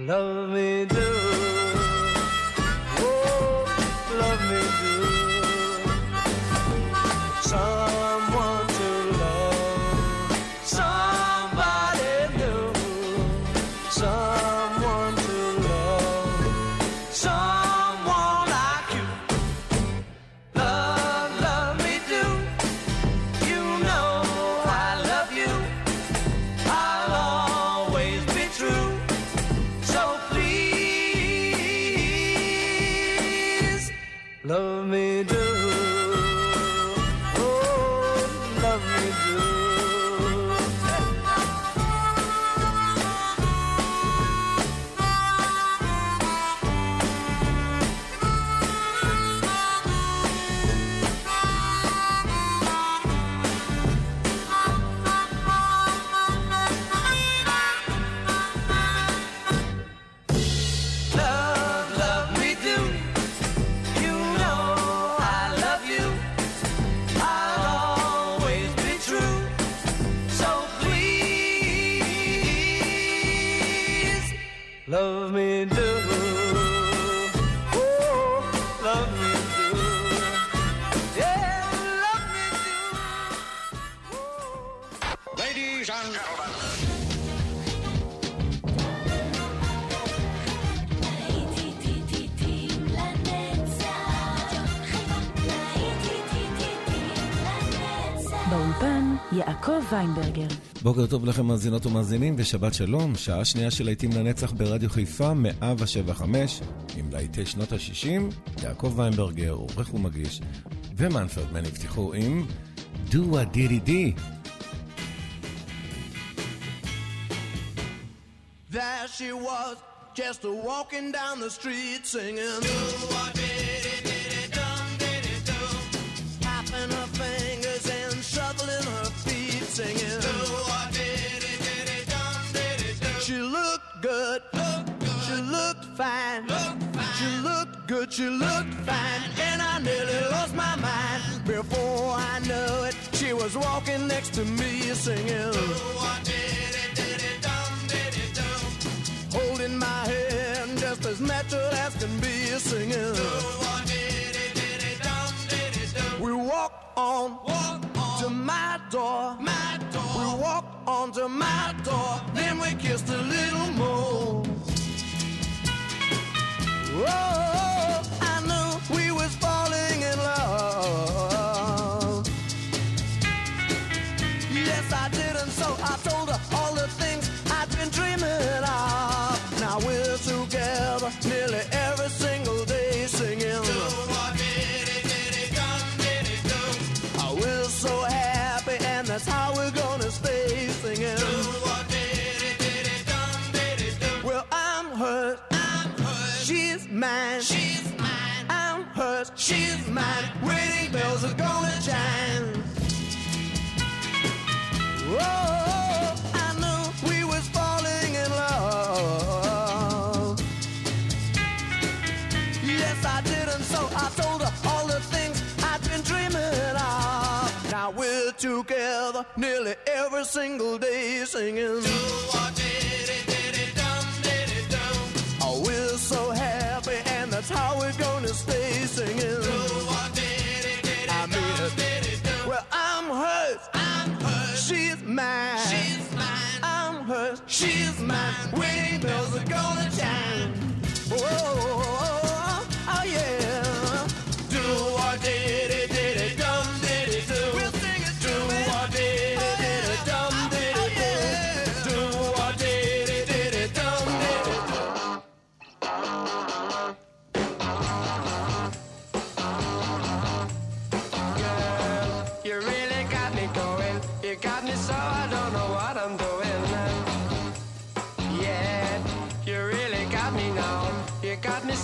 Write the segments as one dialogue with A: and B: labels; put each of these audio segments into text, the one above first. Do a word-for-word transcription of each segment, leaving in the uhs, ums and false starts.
A: love me do. Oh, love me do. Someone to love, somebody new. Someone to love, someone like you. Love, love me do. You know I love you. I'll always be true. So please, love me do. Love me do, oh, love me do, yeah, love me do. Oh.
B: Ladies and gentlemen.
C: באולפן יעקב ויינברגר.
D: בוקר טוב לכם מאזינות ומאזינים ושבת שלום. שעה שנייה של להיטים לנצח ברדיו חיפה מאה שבע חמש עם להיטי שנות ה-שישים. יעקב ויינברגר עורך ומגיש, ומנפרד מן הבטיחו עם Do a Diddy Dee.
A: There she was, just a walking down the street singing Do a diddy diddy dum diddy do, tapping her fingers and shuffling her feet singing Do a diddy diddy dum diddy do. She looked good, looked good. She looked fine, looked fine. She looked good, she looked fine, and I nearly lost my mind. Before I knew it, she was walking next to me singing Do a diddy diddy dum diddy do, holding my hand just as natural as can be singing Do a diddy diddy dum diddy do. We walked on, walk on to my door, my door. We walked on to my door, then we kissed a little more. Oh, I knew we was falling in love. Yes, I did, and so I told her all the things I'd been dreaming of. Now we're together nearly every single day singing Do a diddy diddy dum diddy do. Oh, we're so happy, and that's how we're gonna stay singing Do a diddy diddy dum diddy do. Well, I'm hers, I'm hers. She's mine, she's mine. I'm hers, she's mine. Wedding bells are gonna chime. Whoa, I knew we was falling in love. Yes, I did, and so I told her all the things I'd been dreaming of. Now we're together nearly every single day singing Do a diddy diddy dum diddy do. Oh, we're so happy, and that's how we're gonna stay singing Do a diddy diddy I mean dum diddy do. Well, I'm hers, I'm hers. She's mine, she's mine. I'm hers, she's mine. Wedding bells are gonna chime. Oh, oh yeah. Do a diddy diddy dum diddy do. We'll sing it Do a diddy diddy dum diddy do. Do a diddy diddy dum diddy do. Girl, you really got me going. You got me so I don't know what I'm doing. Yeah, you really got me now. You got me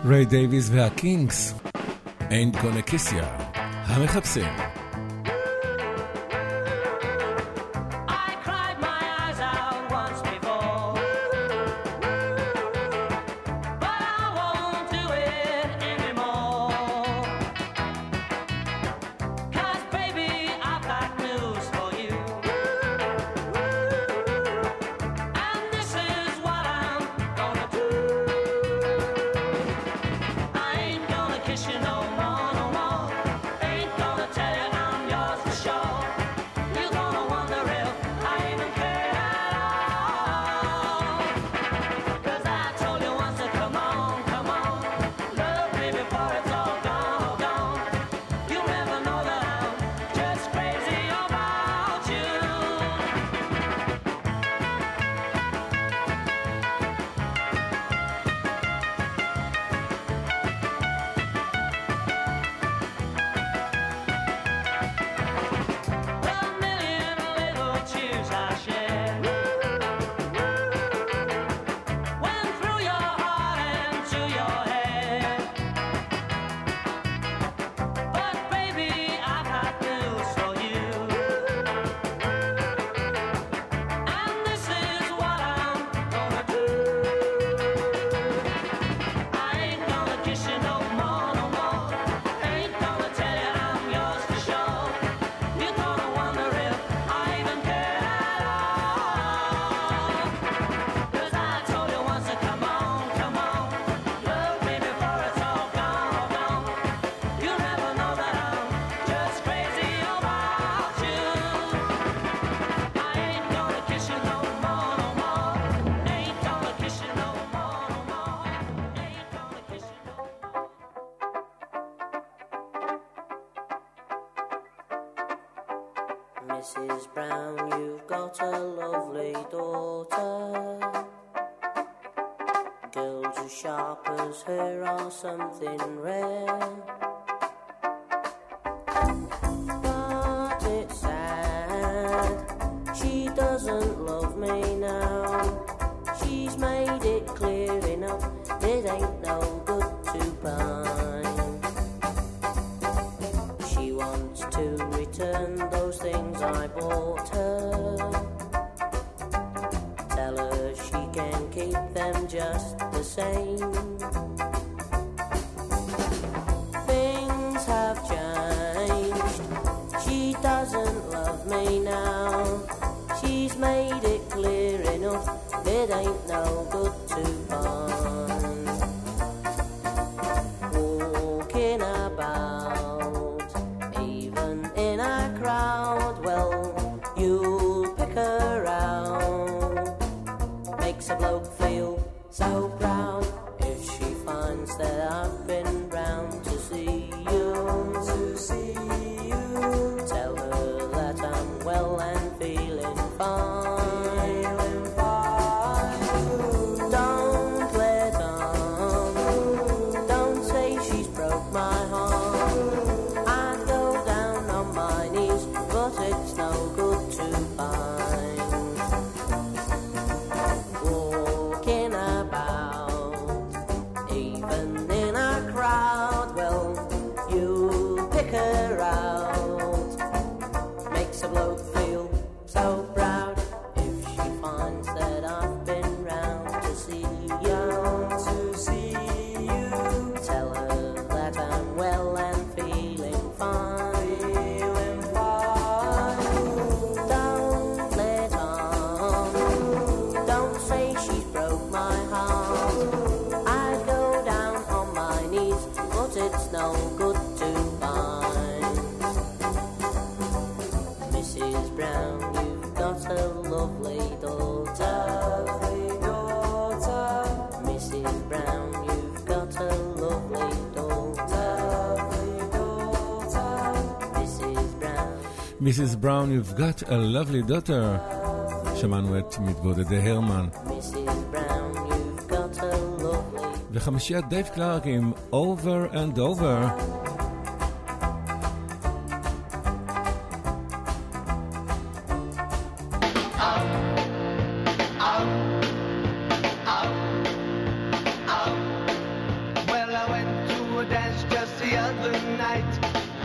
D: ריי דייוויס והקינגס, Ain't Gonna Kiss Ya, המחפשים.
E: Missus Brown, you've got a lovely daughter. Girls as sharp as her are something rare. But it's sad, she doesn't love me now. She's made it clear enough, it ain't no good to pine. She wants to return those things I bought her. Tell her she can keep them just the same. Things have changed, she doesn't love me now. She's made it clear enough, it ain't no good to find. Walking about, even in a crowd, well, you'll pick her out. Makes a bloke feel so proud if she finds that I've been round to see you. To see you. Tell her that I'm well and feeling fine.
D: Missus Brown, you've got a lovely daughter. שמענו את מתבודדי הרמן. וחמישיית דייב קלארק עם Over and Over.
A: Well,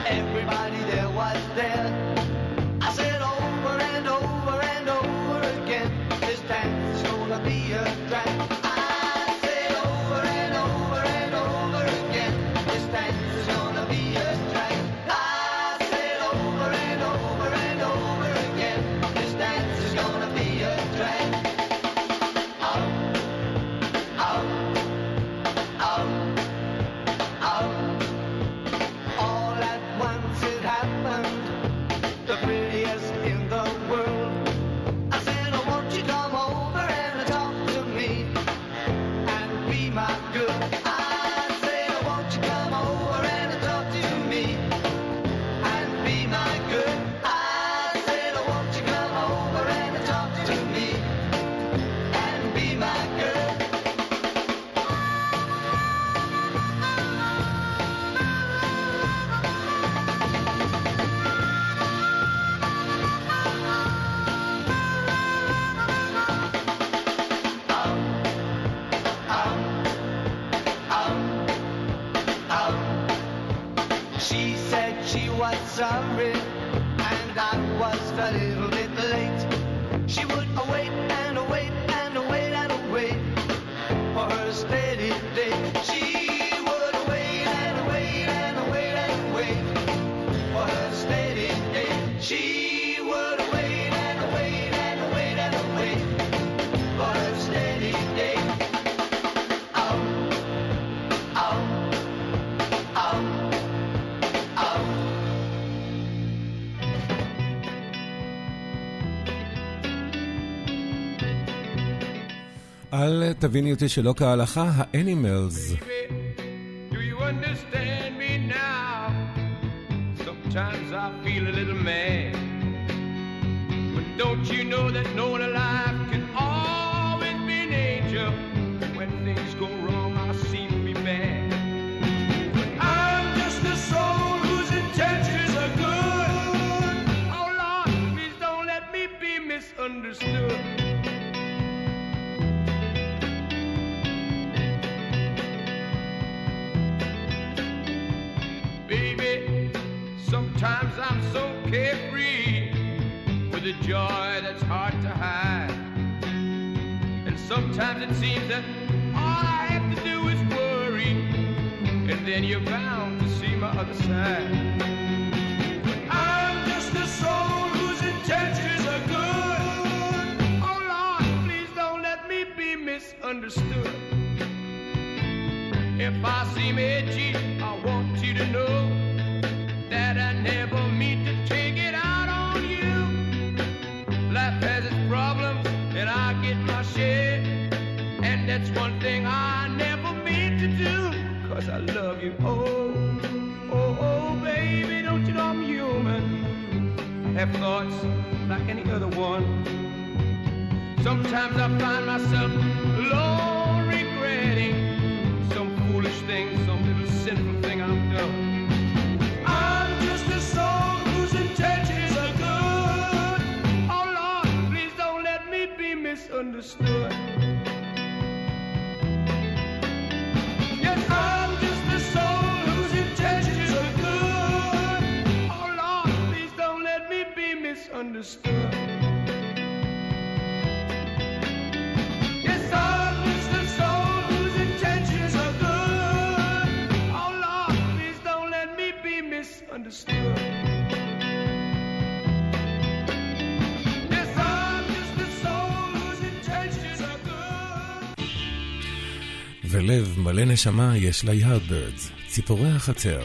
A: everybody there was there. I said over and over and over again, this dance is gonna be a drag. I said over and over and over again, this dance is gonna be a drag. I said over and over and over again, this dance is gonna be a drag. Out, out, out, out. All at once it happened, the prettiest in the world. I said, oh, won't you come over and talk to me and be my girl? I said, oh, won't you come over and talk to me and be my girl? I said, oh, won't you come over and talk to me and be my girl? She said she was sorry and I was a little bit late. She would await and await and await and await for her steady day. She would await and await and await and wait for her steady day. She would await and await and await and wait for her steady day. Out, out, out.
D: על תביני אותי שלא כהלכה, האנימלס.
F: Do you understand me now? Sometimes I feel a little mad, but don't you know that no one alive can always be an angel? When things go wrong, I seem to be bad. But I'm just a soul whose intentions are good. Oh Lord, please don't let me be misunderstood. Sometimes I'm so carefree with a joy that's hard to hide. And sometimes it seems that all I have to do is worry, and then you're bound to see my other side. But I'm just a soul whose intentions are good. Oh Lord, please don't let me be misunderstood. If I seem edgy, I want you to know that I never mean to take it out on you. Life has its problems and I get my share, and that's one thing I never mean to do, 'cause I love you. Oh, oh, oh, baby, don't you know I'm human? I have thoughts like any other one. Sometimes I find myself alone regretting some foolish thing, some little sinful thing I've done. Understood. Yes, I'm just a soul whose intentions are good. Oh Lord, please don't let me be misunderstood. Yes, I'm just a soul whose intentions are good. Oh Lord, please don't let me be misunderstood.
D: ולב מלא נשמה יש לה יארדברדס, ציפורי החצר.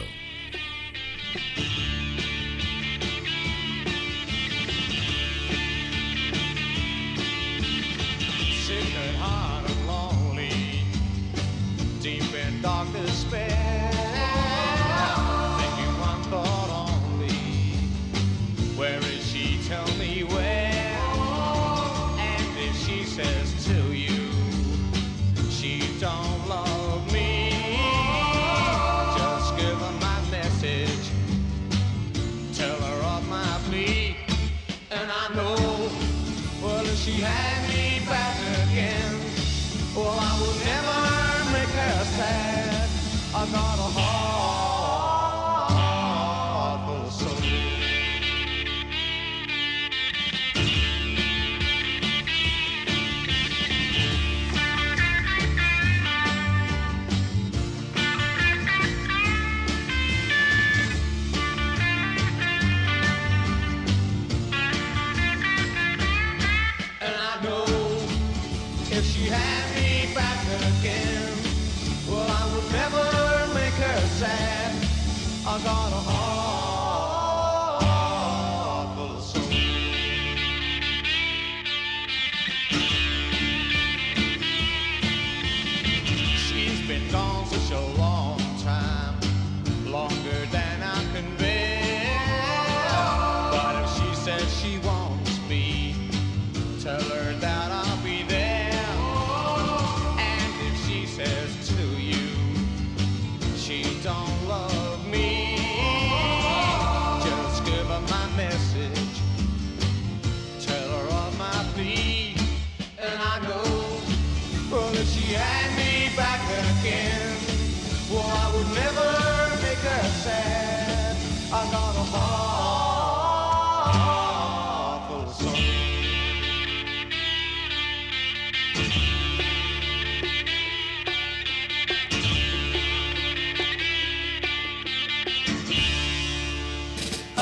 A: I got a heart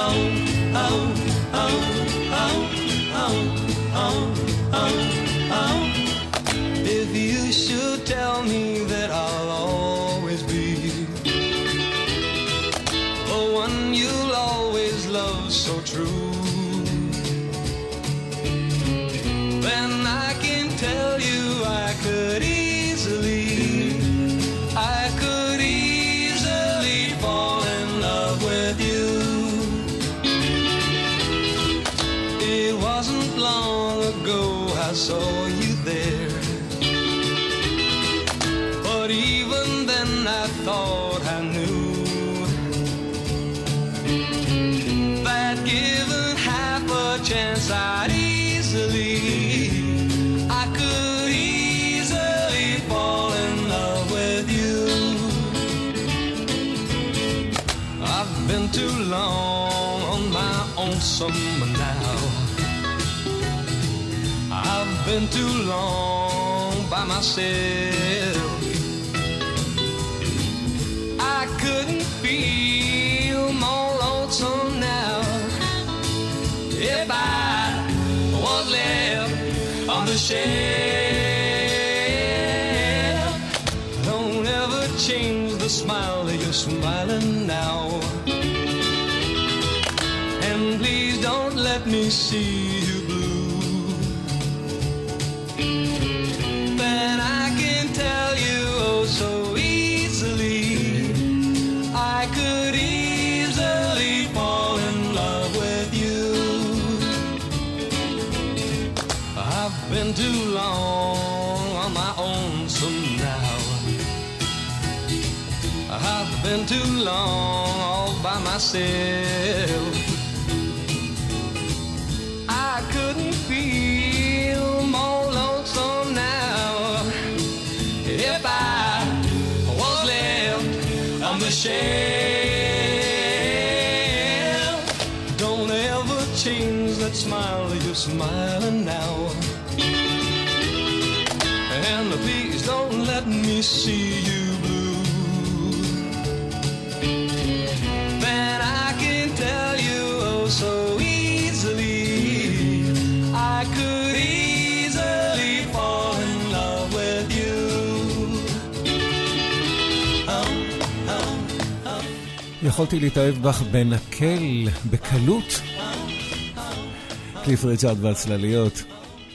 A: If you should tell me that I'll always be the one you'll always love so true, then I can tell you I could easily, I could easily fall in love with you. It wasn't long ago I saw you there, but even then I thought I knew that given half a chance I'd easily, I could easily fall in love with you. I've been too long on my own summer now, I've been too long by myself. I couldn't feel more lonesome now if I was left on the shelf. Don't ever change the smile that you're smiling now, and please don't let me see you blue. Then I can tell you oh so easily, I could easily fall in love with you. I've been too long on my own some now, I've been too long all by myself. I couldn't feel more lonesome now if I was left on the shelf. Don't ever change that smile that you're smiling now, and please don't let me see you blue. Then I can tell you oh so easily, I could easily fall in love with you.
D: יכולתי להתאהב בך בנקל, בקלות. קליף ריצ'ארד והצלליות.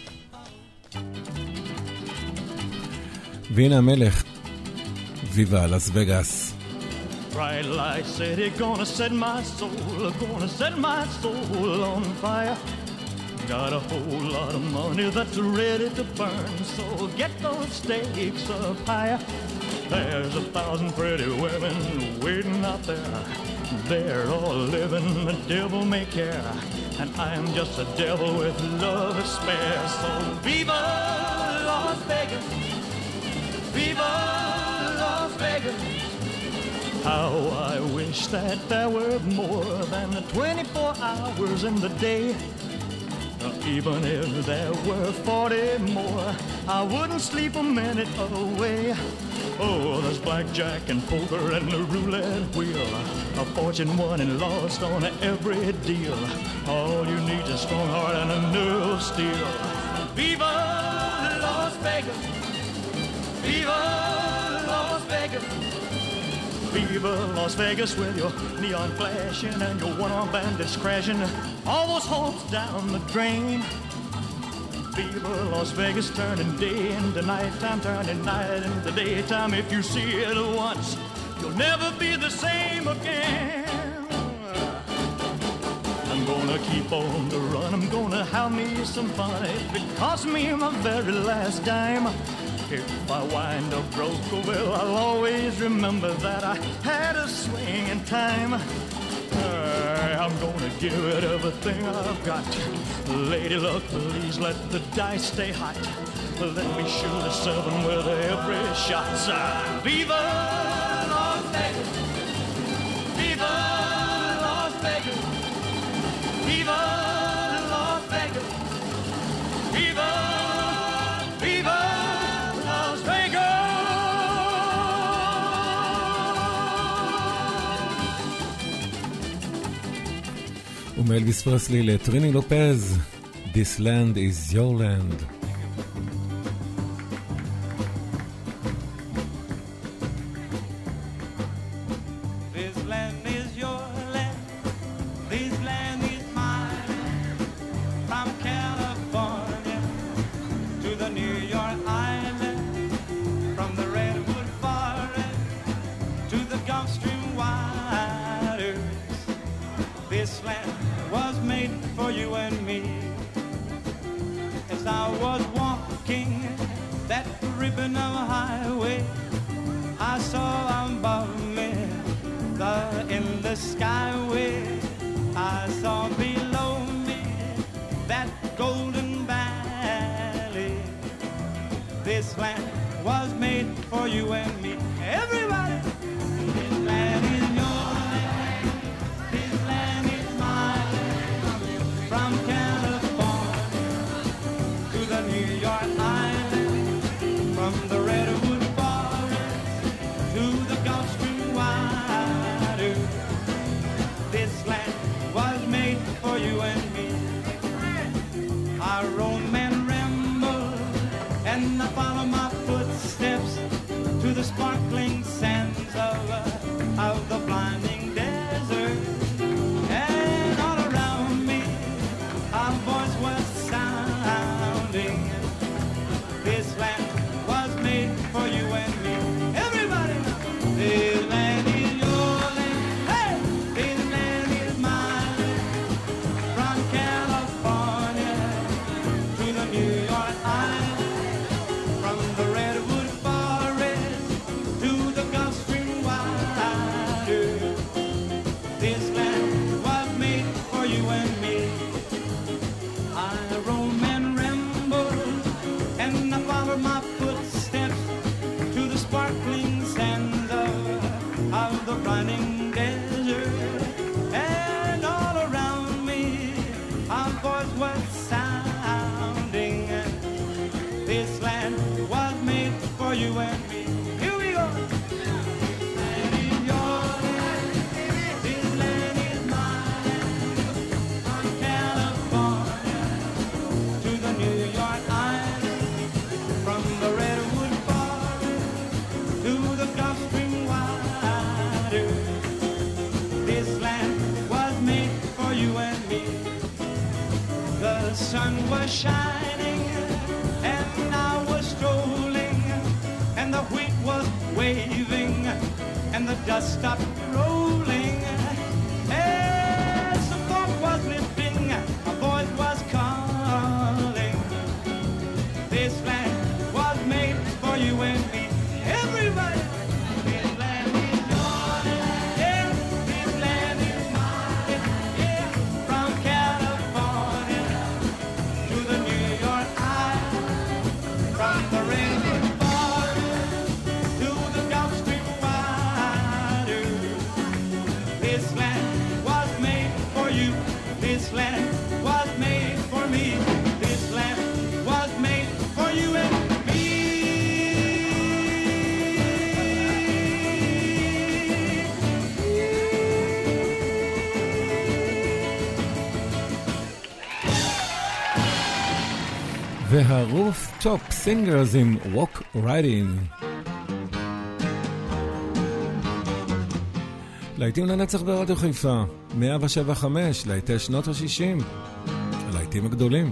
D: והנה המלך, ויבה לס וגאס.
G: Bright light city, gonna set my soul, gonna set my soul on fire. Got a whole lot of money that's ready to burn, so get those stakes up higher. There's a thousand pretty women waiting out there. They're all living the devil may care, and I'm just a devil with love to spare. So viva Las Vegas, viva Las Vegas. How I wish that there were more than twenty-four hours in the day. Even if there were forty more, I wouldn't sleep a minute away. Oh, there's blackjack and poker and the roulette wheel, a fortune won and lost on every deal. All you need is a strong heart and a nerve of steel. Viva Las Vegas, viva Las Vegas, viva Las Vegas with your neon flashing and your one-armed bandits crashing all those hopes down the drain. Viva Las Vegas, turning day into nighttime, turning night into daytime. If you see it once, you'll never be the same again. I'm gonna keep on the run, I'm gonna have me some fun. If it costs me my very last dime, if I wind up broke, well, I'll always remember that I had a swing in time. Uh, I'm gonna give it everything I've got. Lady luck, please let the dice stay hot. Let me shoot a seven with every shot. Uh, Viva Las Vegas, Viva Las Vegas, Viva Las Vegas, Viva, Viva Las Vegas.
D: ומאלוויס פרסלי לטריני לופז, This land is your land. והרוף טופ סינגרס עם Walk Right In. להיטים לנצח ברדיו חיפה, מאה שבע חמש, להיטי שנות ה-שישים, הלהיטים הגדולים.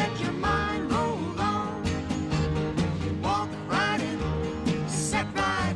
H: Right in, set right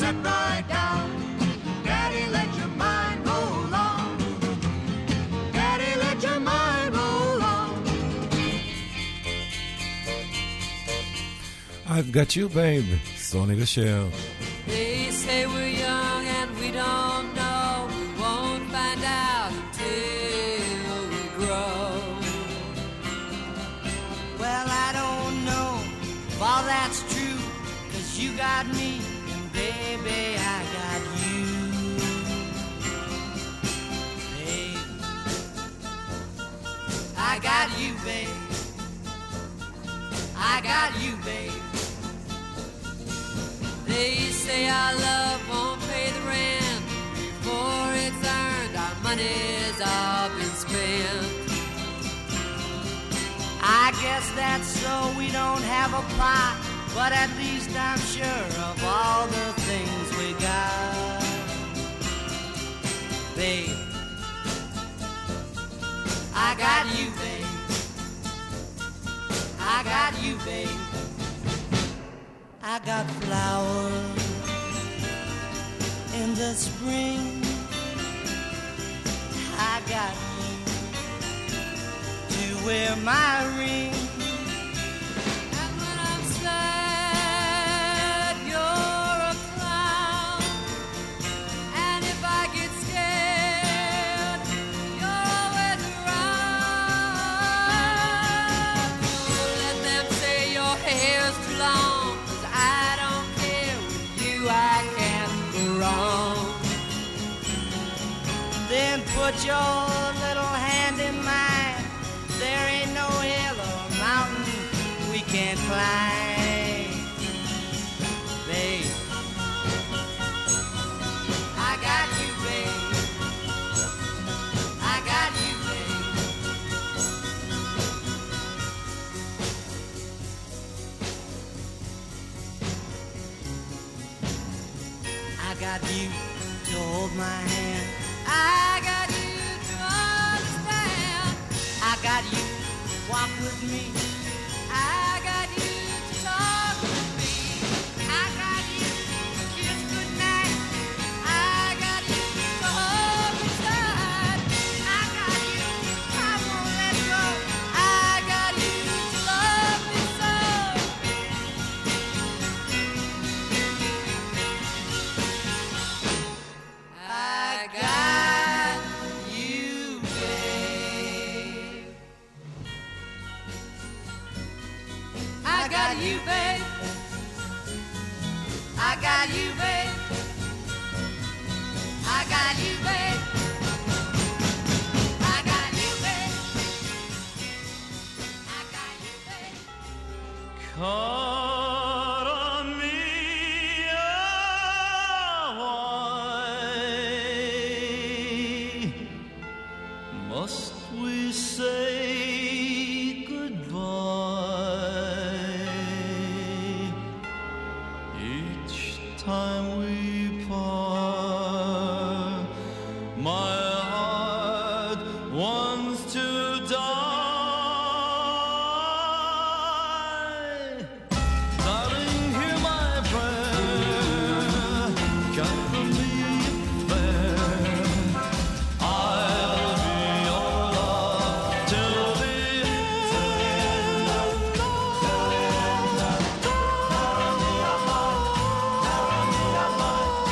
A: sit right down. Daddy, let your mind roll on. Daddy, let your mind roll on.
D: I've got you, babe, סוני ושר.
H: They say we're young and we don't know. We won't find out until we grow.
I: Well, I don't know if all that's true, 'cause you got me and baby I got you. Babe, I got you, babe. I got you, babe.
H: They say our love won't pay the rent before it's earned. Our money's all been spent.
I: I guess that's so we don't have a pot, but at least I'm sure of all the things we got. Babe, I got you, babe. I got you, babe. I got flowers in the spring. I got you to wear my ring.
H: And when I'm sad, you're a clown. And if I get scared, you're always around. Oh, let them say your hair's too long, 'cause I don't care. With you I can't go wrong.
I: Then put your little hand in mine. There ain't no hill or mountain we can't climb. Babe, I got you, babe. I got you, babe. I got you to hold my hand.
H: I got you to understand.
I: I got you to walk with me.
H: I got you to talk with me.
I: I got you to kiss goodnight.
H: I got you to hold me tight.
I: I got you, I won't let go.
H: I got you to love me so. I got you, babe. I got you, babe.
I: I got you, babe. I got you, babe. I got you, babe. I got you, babe.
G: Cara mia, why must we say goodbye each time we part? My heart wants to die. Darling, hear my prayer. Gather me fair. I'll be your love till the end.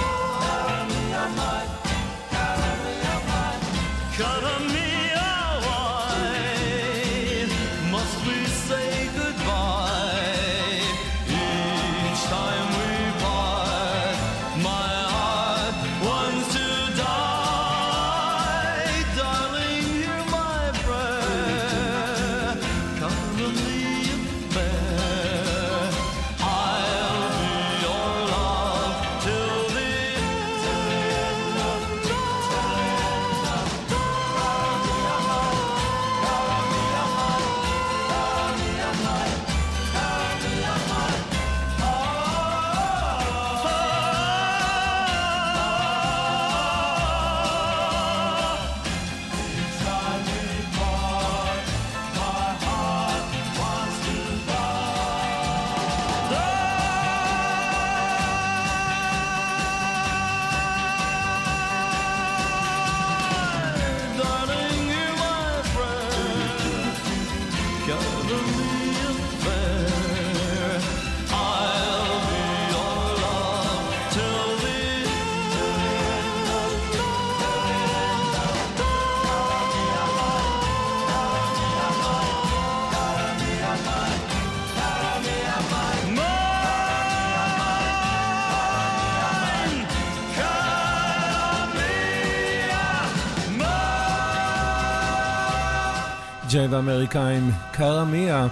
D: ג'יי והאמריקאים, קארה מיה,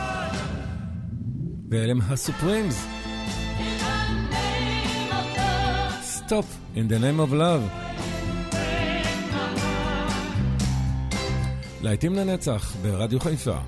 D: ואלה הם הסופרימס. Stop in the name of love. להיטים לנצח ברדיו חיפה.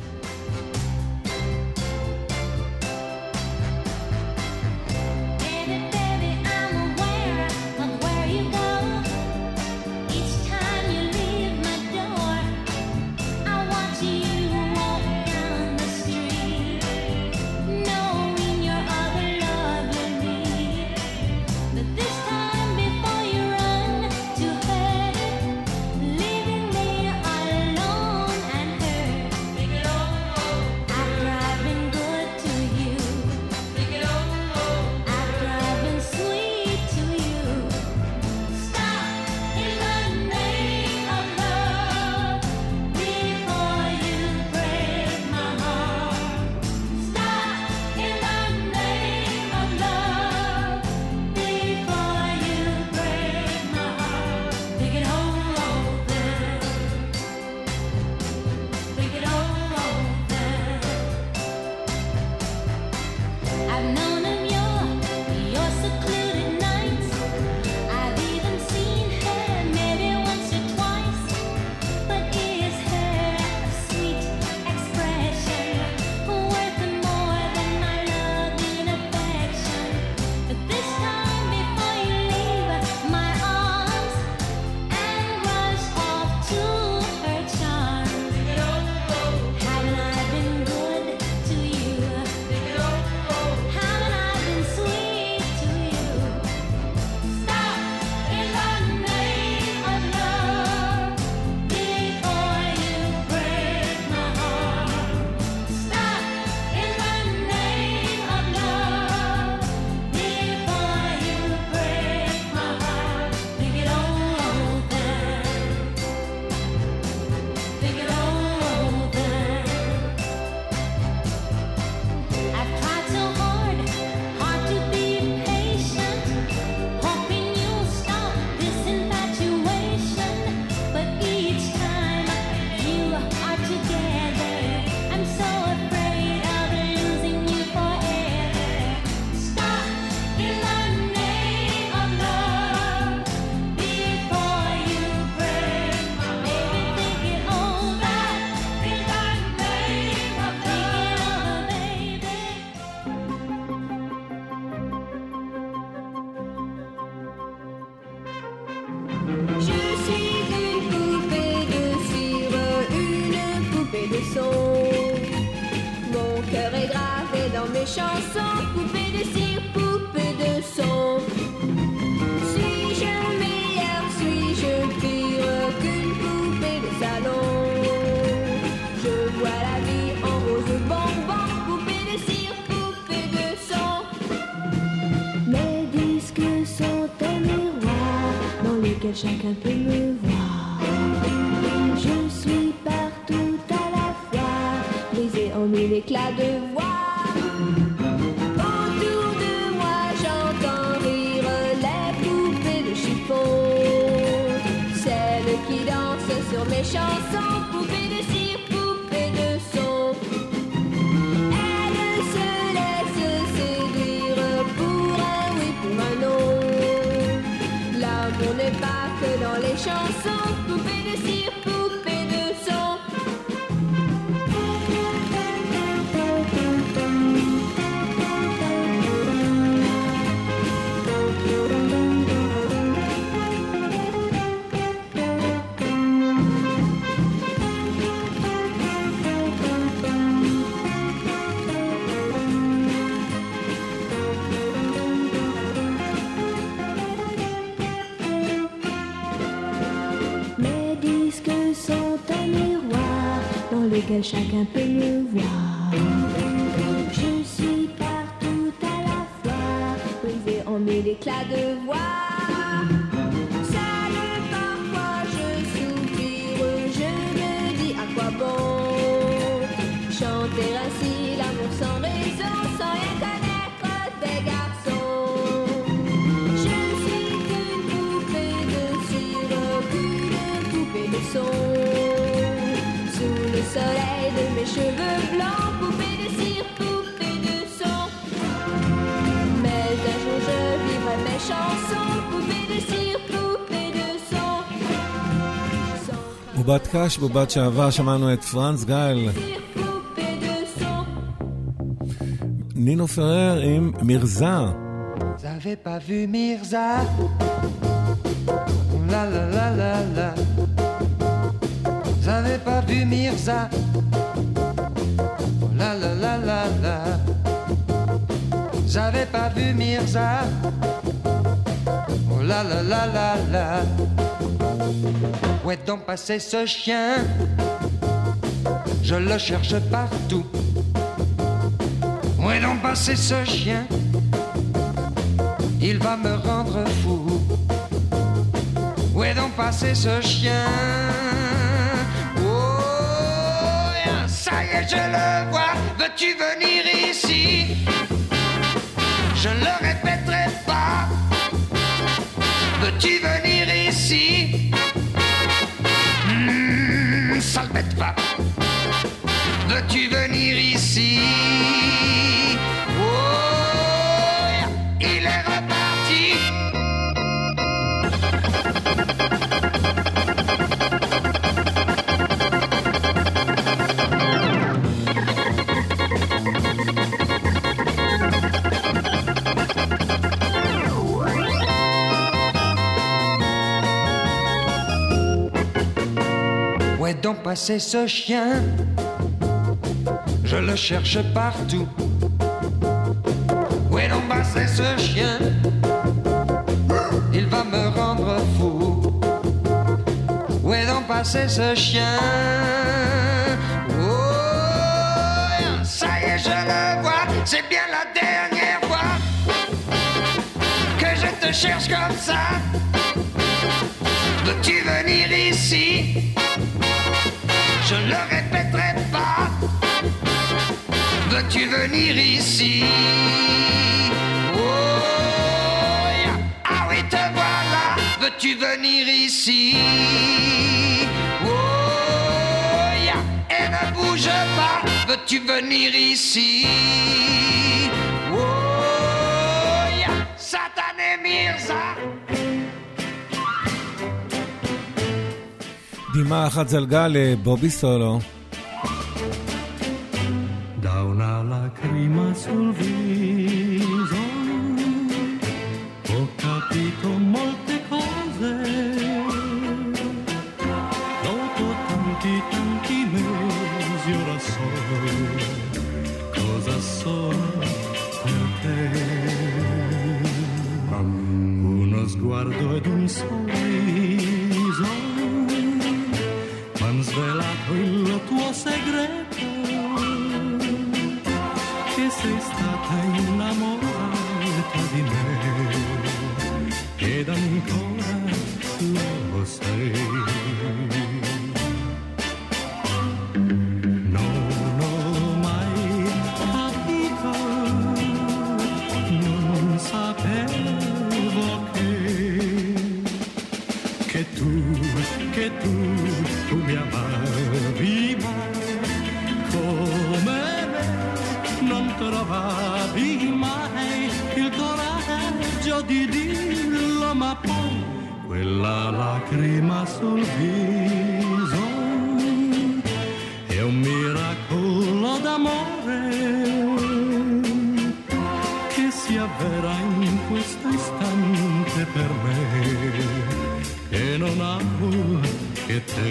J: Chanson, poupée de cire, poupée de son. Suis-je meilleure, suis-je pire qu'une poupée de salon? Je vois la vie en rose bonbon, poupée de cire, poupée de son. Mes disques sont un miroir dans lequel chacun peut me voir. Je suis partout à la fois, brisée en mille éclats de voix. Sur mes chansons, poupée de cire, poupée de son. Elle se laisse séduire pour un oui, pour un non. L'amour n'est pas que dans les chansons, poupée de cire, poupée de son. Lequel chacun peut me voir. Je suis partout à la fois, brisée en mille éclats de voix. Seule parfois je soupire, je me dis à quoi bon chanter ainsi l'amour sans raison, sans rien connaître des garçons. Je ne suis qu'une poupée de cire, qu'une poupée de son. Sous le
D: בובת קש, בובת שעבר, שמענו את פרנס גל. נינו פרר עם מירזה.
K: J'avais pas vu Mirza. La la la la la. J'avais pas vu Mirza. La la la la la. J'avais pas vu Mirza. Oh la la la la la. Où est donc passé ce chien? Je le cherche partout. Où est donc passé ce chien? Il va me rendre fou. Où est donc passé ce chien? Oh, ça y est, je le vois. Veux-tu venir ici? Je ne le répéterai pas. Veux-tu venir ici? Mmh, sale bête va. Veux-tu venir ici? Oh, il est reparti. Où est donc passé ce chien? Je le cherche partout. Où est donc passé ce chien? Il va me rendre fou. Où est donc passé ce chien? Oh, ça y est, je le vois. C'est bien la dernière fois que je te cherche comme ça. Veux-tu venir ici? Je ne le répéterai pas. Veux-tu venir ici? Oh, yeah. Ah oui, te voilà. Veux-tu venir ici? Oh, yeah. Et ne bouge pas. Veux-tu venir ici? Oh, yeah. Satané Mirza.
D: דמעה אחת זלגה לבובי סולו.
G: Da una lacrima sul viso ho capito molte cose. Dopo tanti tanti mesi ora so cosa sono per te. Uno sguardo ed un sorriso m'han svelato il tuo segreto, che sei stata innamorata di me ed ancora lo sei. Non ho mai capito, non sapevo che che tu, che tu, tu mi amavi mai come me, non trovavi mai il coraggio di dirlo, ma poi quella lacrima sul viso è un miracolo d'amore che si avvera in questo istante per me, che non amo che te.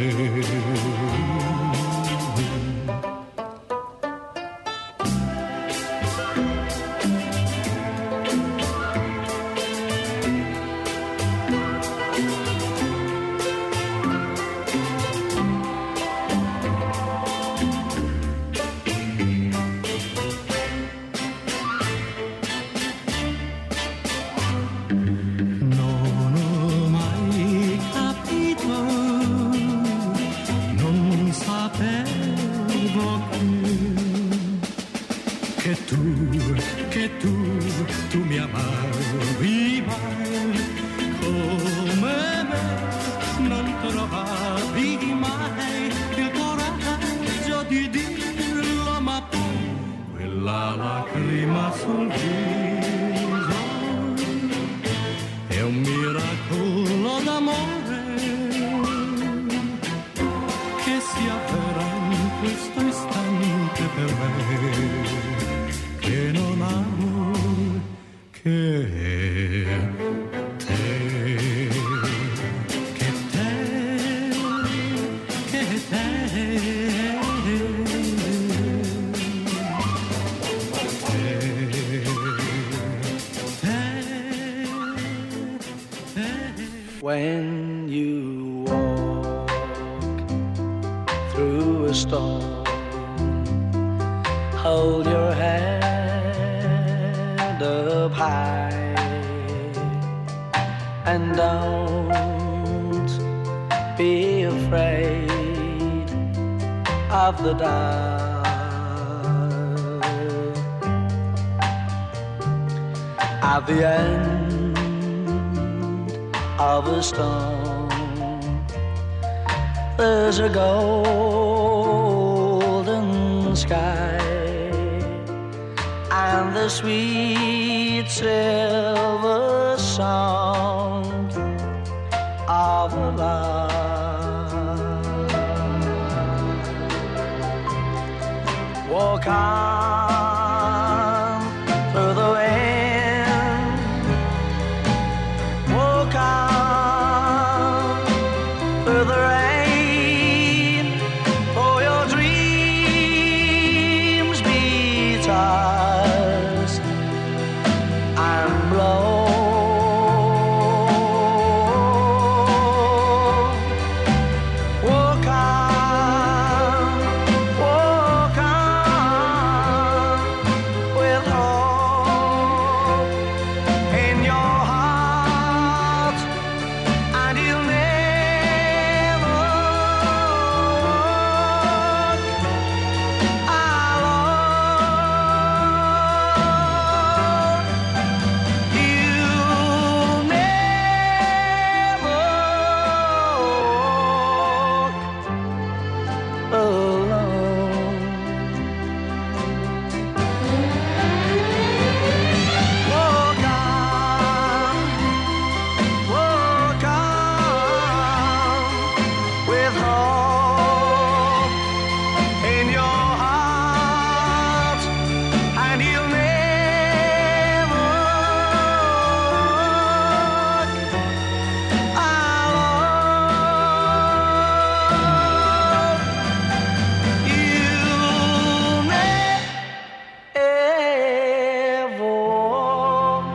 L: When you walk through a storm, hold your head up high and don't be afraid of the dark. At the end of a storm, there's a golden sky and the sweet silver song of love. Walk on through the wind, walk on through the rain, for your dreams be tossed and blown. Walk on, walk on, with hope in your heart, and you'll never walk alone. You'll never walk alone. Walk on, walk on, with hope in your heart, and you'll never walk alone. You'll never walk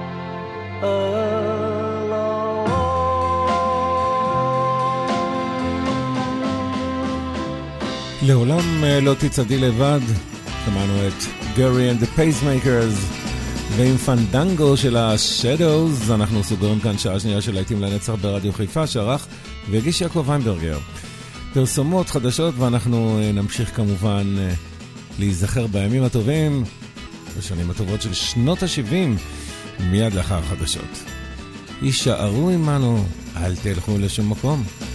L: alone.
D: לעולם אה, לא תצעדי לבד. שמענו את גרי and the Pacemakers ועם פנדנגו של ה-Shadows. אנחנו סוגרים כאן שעה שנייה של להיטים לנצח ברדיו חיפה, שערך והגיש יעקב ויינברגר. פרסומות חדשות, ואנחנו אה, נמשיך כמובן אה, להיזכר בימים הטובים, בשנים הטובות של שנות ה-שבעים, מיד לאחר החדשות. יישארו עמנו, אל תלכו לשום מקום.